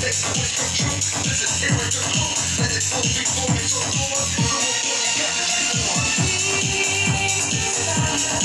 Make the wish come true. This is here at the crew. Let it go before it's all over.